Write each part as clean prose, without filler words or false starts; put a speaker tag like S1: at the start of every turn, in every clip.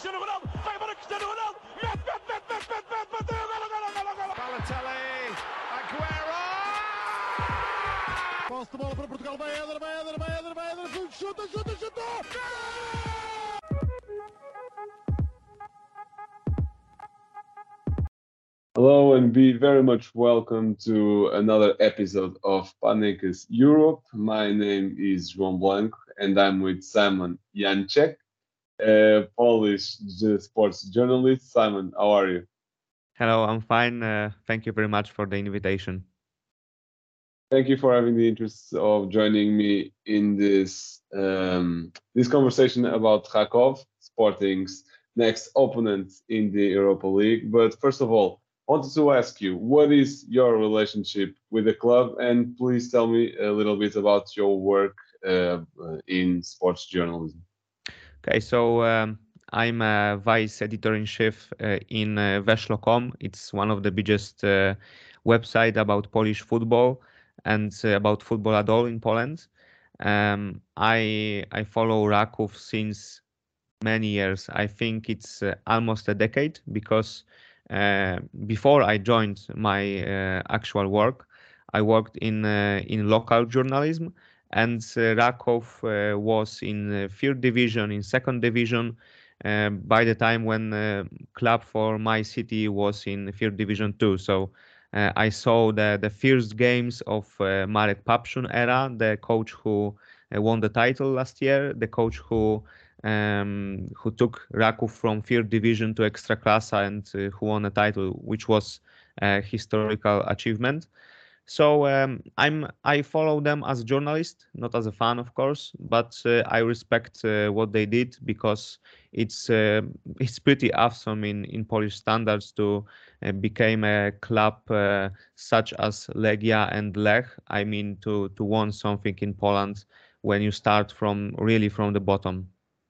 S1: Cristiano Ronaldo, vai embora Cristiano Ronaldo, mete, bateu, golo.
S2: Balotelli, Aguero!
S3: Posse de bola para Portugal, vai Éder, chuta!
S4: Hello and be very much welcome to another episode of Panekas Europe. My name is João Blanco and I'm with Simon Janczek, a Polish sports journalist. Simon, how are you?
S5: Hello, I'm fine. Thank you very much for the invitation.
S4: Thank you for having the interest of joining me in this this conversation about Krakow, Sporting's next opponent in the Europa League. But first of all, I wanted to ask you, what is your relationship with the club? And please tell me a little bit about your work in sports journalism.
S5: Okay, so I'm a vice editor-in-chief in Weszło.com. It's one of the biggest website about Polish football and about football at all in Poland. I follow Raków since many years. I think it's almost a decade because before I joined my actual work, I worked in local journalism, and Raków was in third division, in second division, by the time when club for my city was in third division too. So I saw the first games of Marek Papszun era, the coach who won the title last year, the coach who took Raków from third division to Ekstraklasa and who won a title, which was a historical achievement. So I follow them as a journalist, not as a fan, of course, but I respect what they did because it's pretty awesome in Polish standards to become a club such as Legia and Lech. I mean, to won something in Poland when you start from the bottom.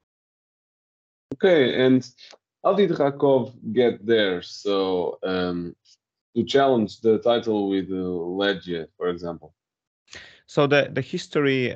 S4: Okay, and how did Rakov get there? So to challenge the title with Legia, for example.
S5: So the history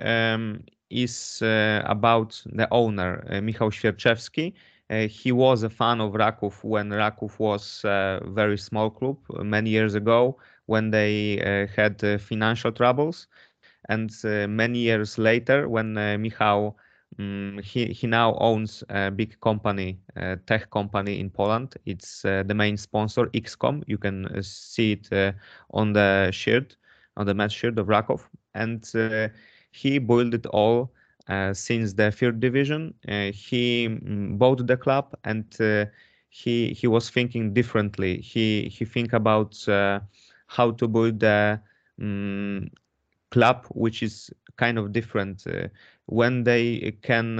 S5: is about the owner, Michał Świerczewski. He was a fan of Raków when Raków was a very small club many years ago when they had financial troubles. And many years later, when Michał he now owns a big company, tech company in Poland. It's the main sponsor, XCOM. You can see it on the shirt, on the match shirt of Raków. And he built it all since the third division. He bought the club, and he was thinking differently. He think about how to build the club which is kind of different when they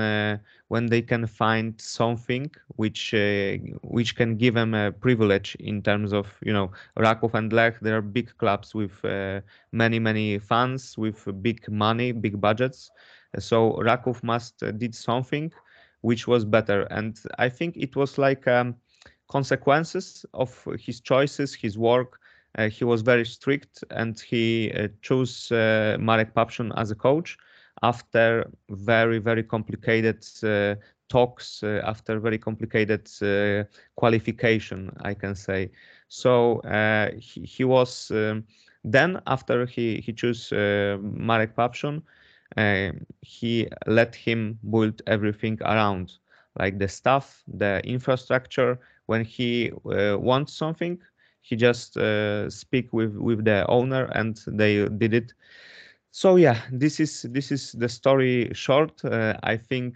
S5: can find something which can give them a privilege in terms of, you know, Raków and Lech. They are big clubs with many fans, with big money, big budgets. So Raków must did something which was better, and I think it was like consequences of his choices, his work. He was very strict, and he chose Marek Papszun as a coach after very complicated talks, after very complicated qualification, I can say. So he was then, after he chose Marek Papszun, he let him build everything around, like the staff, the infrastructure. When he wants something, he just speak with the owner, and they did it. So yeah, this is the story short. I think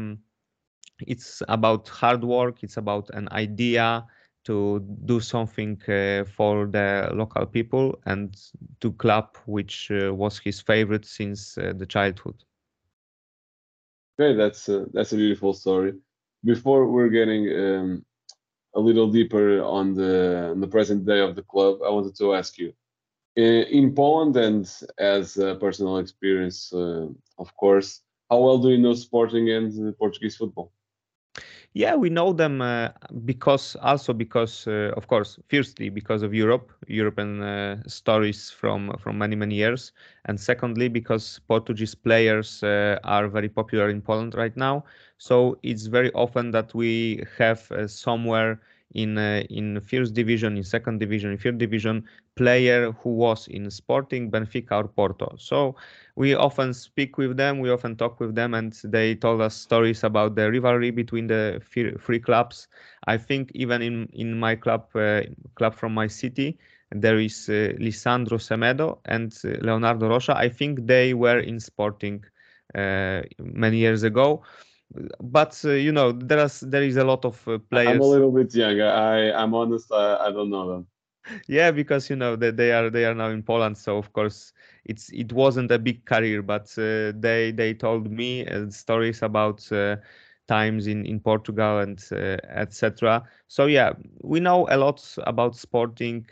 S5: it's about hard work. It's about an idea to do something for the local people and to club which was his favorite since the childhood.
S4: Okay, that's a beautiful story. Before we're getting a little deeper on the present day of the club, I wanted to ask you, in Poland and as a personal experience, of course, how well do you know Sporting and Portuguese football?
S5: Yeah, we know them because of course, firstly because of European stories from many years, and secondly because Portuguese players are very popular in Poland right now. So it's very often that we have somewhere in first division, in second division, in third division player who was in Sporting, Benfica, or Porto. So we often speak with them, we often talk with them, and they told us stories about the rivalry between the three clubs. I think even in my club from my city, there is Lisandro Semedo and Leonardo Rocha. I think they were in Sporting many years ago. But there is a lot of
S4: I'm a
S5: players.
S4: little bit young. I'm honest. I don't know them.
S5: Yeah, because they are now in Poland, so of course it wasn't a big career, but they told me stories about times in Portugal and etc. So yeah, we know a lot about Sporting.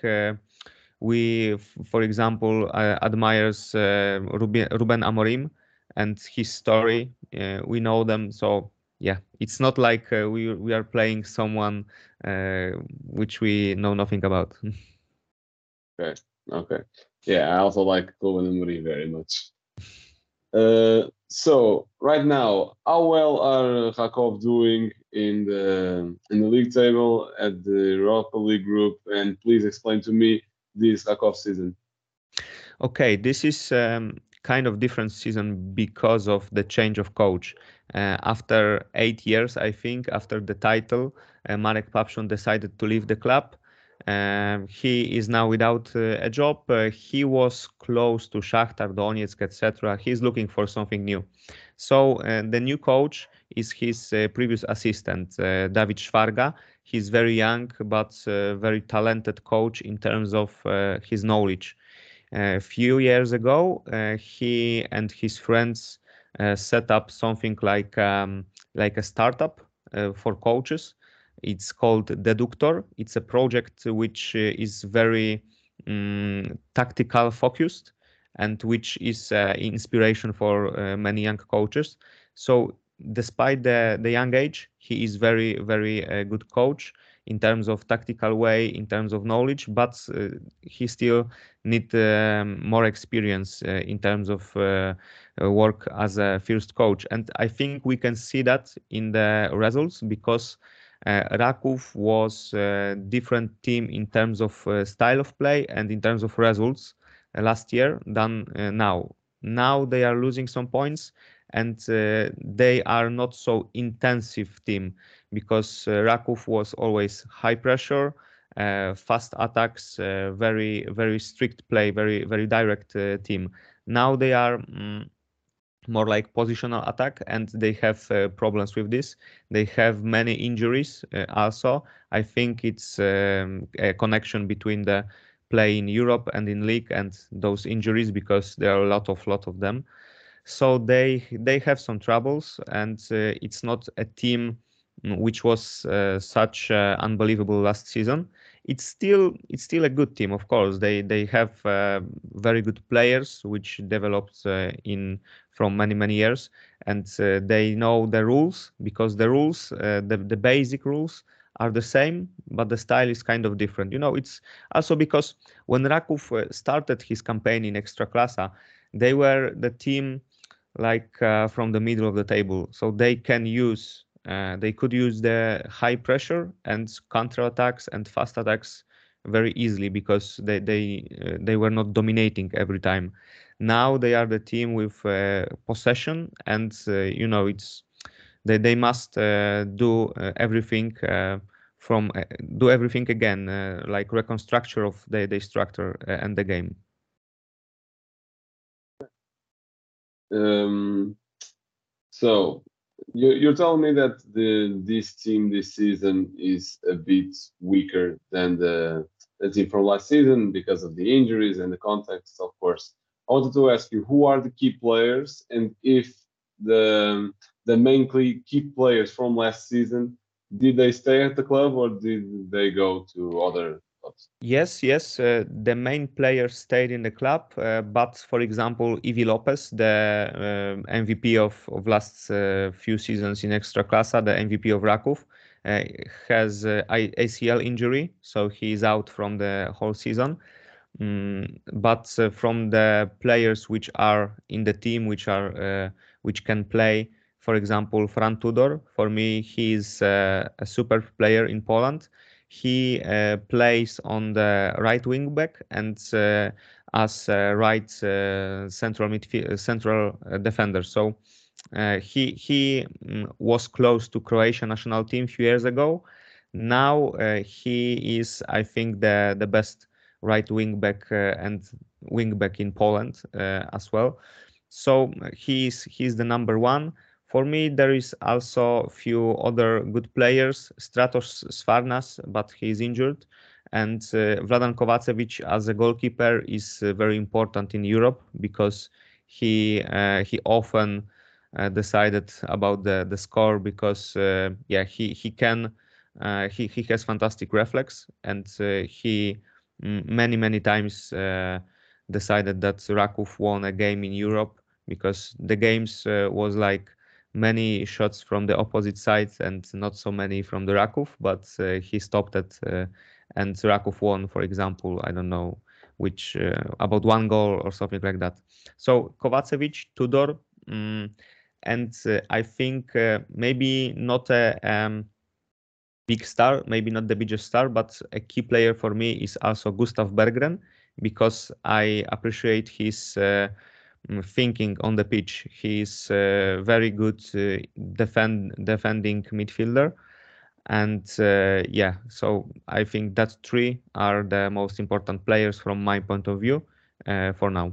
S5: For example, admires Ruben Amorim and his story. We know them, so yeah, it's not like we are playing someone which we know nothing about.
S4: Okay. Okay. Yeah, I also like Ruben Amorim very much. So right now, how well are Rakov doing in the league table at the Europa League group? And please explain to me this Rakov season.
S5: Okay, this is kind of different season because of the change of coach. After 8 years, I think, after the title, Marek Papszun decided to leave the club. He is now without a job. He was close to Shakhtar Donetsk, etc. He's looking for something new. So the new coach is his previous assistant, David Szwarga. He's very young, but very talented coach in terms of his knowledge. A few years ago, he and his friends set up something like a startup for coaches. It's called Deductor. It's a project which is very tactical focused and which is inspiration for many young coaches. So despite the young age, he is very good coach in terms of tactical way, in terms of knowledge, but he still need more experience in terms of work as a first coach. And I think we can see that in the results because Raków was a different team in terms of style of play and in terms of results last year than now. Now they are losing some points and they are not so intensive team because Raków was always high pressure, fast attacks, very strict play, very direct team. Now they are more like positional attack, and they have problems with this. They have many injuries also. I think it's a connection between the play in Europe and in league and those injuries because there are a lot of them. So they have some troubles, and it's not a team which was such unbelievable last season. It's still a good team, of course. They have very good players which developed in from many years, and they know the rules because the rules, the basic rules are the same, but the style is kind of different. It's also because when Raków started his campaign in Ekstraklasa, they were the team like from the middle of the table, so they could use the high pressure and counter attacks and fast attacks very easily because they were not dominating every time. Now they are the team with possession, and it's they must everything from do everything again, like reconstruction of the structure and the game.
S4: So you're telling me that this team this season is a bit weaker than the team from last season because of the injuries and the context, of course. I wanted to ask you who are the key players and if the main key players from last season, did they stay at the club or did they go to other spot?
S5: Yes, yes. The main players stayed in the club, but for example, Ivi Lopez, the MVP of last few seasons in Ekstraklasa, the MVP of Raków, has ACL injury, so he's out from the whole season. But from the players which are in the team, which can play, for example, Fran Tudor, for me, he's a super player in Poland. He plays on the right wing back and as right central defender. So he was close to Croatian national team a few years ago. Now he is, I think, the best right wing back and wing back in Poland as well. So he's the number one. For me, there is also a few other good players. Stratos Svarnas, but he's injured, and Vladan Kovacevic as a goalkeeper is very important in Europe because he often decided about the score because yeah he can he has fantastic reflex and he many times decided that Raków won a game in Europe because the games was like many shots from the opposite side and not so many from the Raków, but he stopped it and Raków won, for example, I don't know which about 1 goal or something like that. So Kovacevic, Tudor, and I think maybe not a big star, maybe not the biggest star, but a key player for me is also Gustav Berggren because I appreciate his thinking on the pitch. He's very good defending midfielder, and yeah, so I think that three are the most important players from my point of view for now.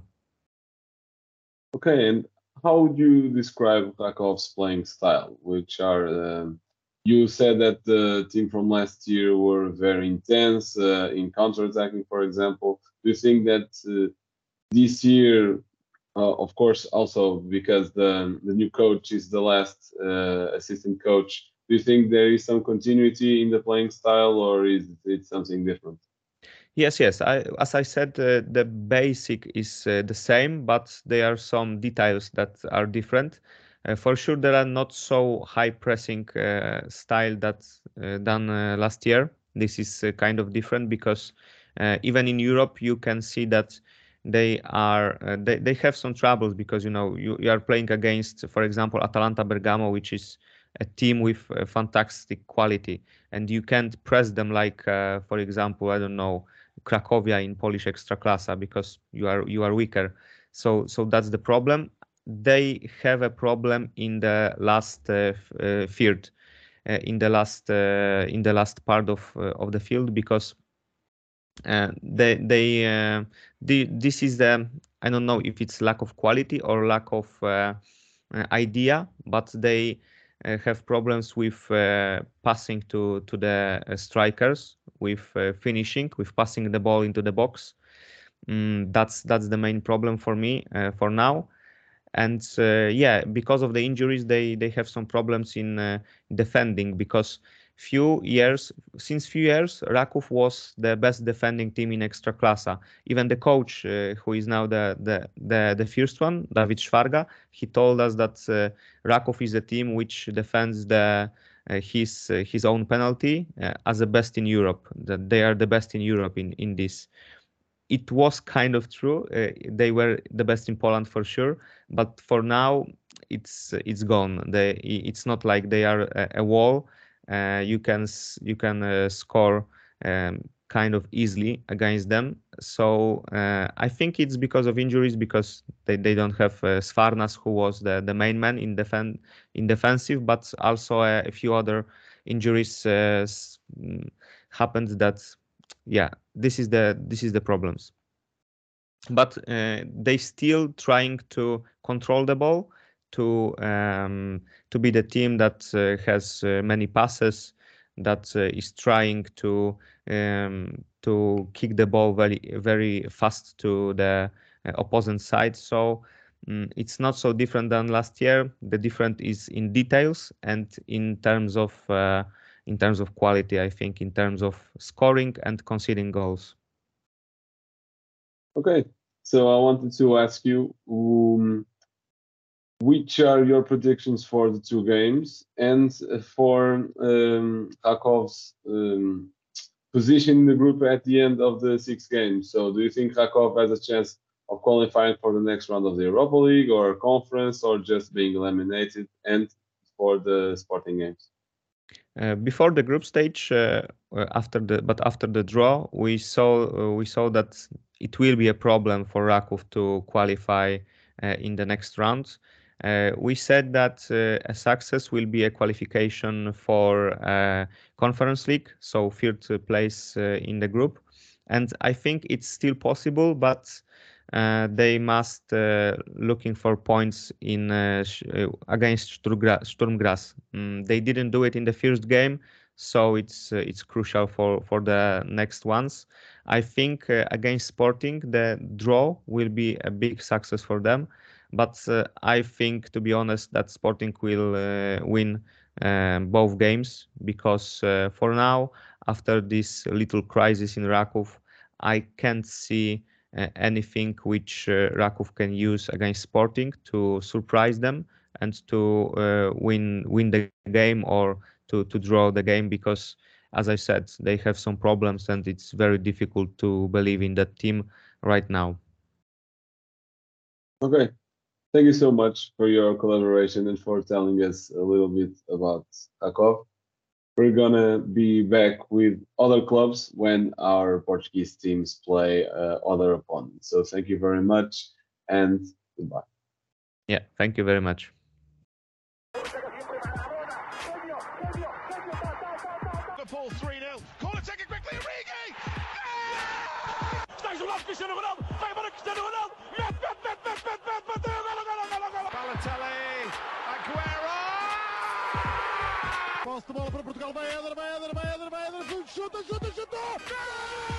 S4: Okay, and how would you describe Rakow's playing style? Which are you said that the team from last year were very intense in counter-attacking, for example. Do you think that this year, of course, also because the new coach is the last assistant coach, do you think there is some continuity in the playing style, or is it something different?
S5: Yes, yes. As I said, the basic is the same, but there are some details that are different. For sure, there are not so high pressing style that done last year. This is kind of different because even in Europe, you can see that they are they have some troubles because you are playing against, for example, Atalanta Bergamo, which is a team with fantastic quality, and you can't press them like, for example, I don't know, Cracovia in Polish Ekstraklasa because you are weaker. So that's the problem. They have a problem in the last third, in the last part of the field because this is the, I don't know if it's lack of quality or lack of idea, but they have problems with passing to the strikers, with finishing, with passing the ball into the box. That's the main problem for me for now. And yeah, because of the injuries, they have some problems in defending because since few years, Raków was the best defending team in Ekstraklasa. Even the coach, who is now the first one, Dawid Szwarga, he told us that Raków is a team which defends his own penalty as the best in Europe. That they are the best in Europe in this. It was kind of true. They were the best in Poland for sure, but for now it's gone. It's not like they are a wall. You can score kind of easily against them. So I think it's because of injuries, because they don't have Svarnas, who was the main man in defensive, but also a few other injuries happened that, yeah, this is the problems. But they still trying to control the ball, to be the team that has many passes, that is trying to kick the ball very fast to the opposing side. So it's not so different than last year. The difference is in details and in terms of in terms of quality, I think in terms of scoring and conceding goals.
S4: Okay, so I wanted to ask you, which are your predictions for the two games and for Kharkov's position in the group at the end of the 6 games? So do you think Kharkov has a chance of qualifying for the next round of the Europa League or conference, or just being eliminated, and for the Sporting games?
S5: Before the group stage, after the draw, we saw that it will be a problem for Rakov to qualify in the next round. We said that a success will be a qualification for Conference League, so third place in the group, and I think it's still possible, but they must looking for points in against Sturm Graz. They didn't do it in the first game, so it's crucial for the next ones. I think against Sporting the draw will be a big success for them, but I think, to be honest, that Sporting will win both games, because for now, after this little crisis in Rakov, I can't see anything which Rakov can use against Sporting to surprise them and to win the game, or to draw the game, because, as I said, they have some problems and it's very difficult to believe in that team right now.
S4: Okay, thank you so much for your collaboration and for telling us a little bit about Kharkov. We're gonna be back with other clubs when our Portuguese teams play other opponents. So thank you very much and goodbye.
S5: Yeah, thank you very much.
S2: Liverpool 3-0. Corner taken quickly, Origi!
S1: Está jogado Cristiano Ronaldo, vai embora Cristiano Ronaldo, mete, bateu, golo.
S2: Balotelli, Aguero!
S3: Posse de bola para Portugal, vai Éder, chuta!